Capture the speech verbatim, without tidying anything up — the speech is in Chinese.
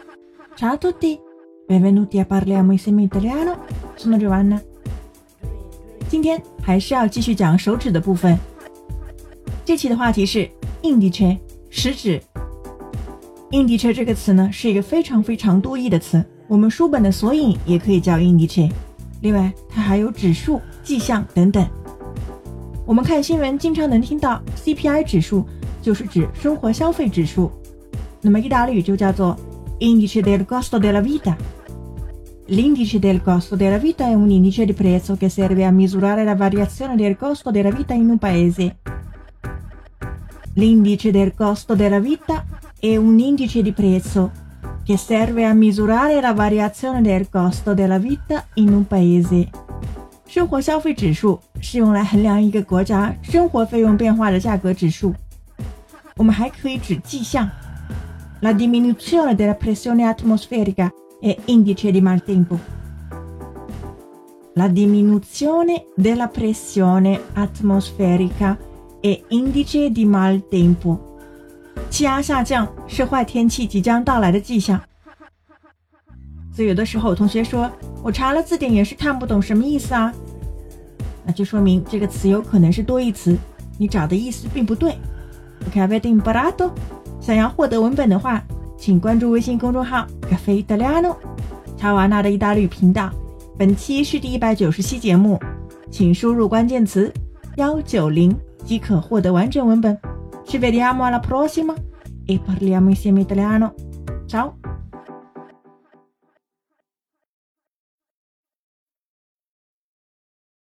Ciao a tutti, benvenuti a Parliamo insieme italiano. Sono Giovanna. 今天还是要继续讲手指的部分。这期的话题是 indice 食指。indice 这个词呢是一个非常非常多义的词，我们书本的索引也可以叫 indice。另外，它还有指数、迹象等等。我们看新闻经常能听到 C P I 指数，就是指生活消费指数。那么意大利语就叫做 Indice del costo della vita. L'indice del costo della vita è un indice di prezzo che serve a misurare la variazione del costo della vita in un paese. L'indice del costo della vita è un indice di prezzo che serve a misurare la variazione del costo della vita in un paese. 生活消费指数是用来衡量一个国家生活费用变化的价格指数。我们还可以指迹象。La diminuzione della pressione atmosferica è indice di maltempo. La diminuzione della pressione atmosferica è indice di maltempo. 气压下降是坏天气即将到来的迹象。所以有的时候同学说，我查了字典也是看不懂什么意思啊，那就说明这个词有可能是多义词，你找的意思并不对。Ok, avete imparato? 想要获得文本的话，请关注微信公众号 Caffè Italiano 查瓦纳的意大利语频道。本期是第一百九十期节目，请输入关键词一九零即可获得完整文本。Ci vediamo alla prossima e parliamo insieme italiano. Ciao!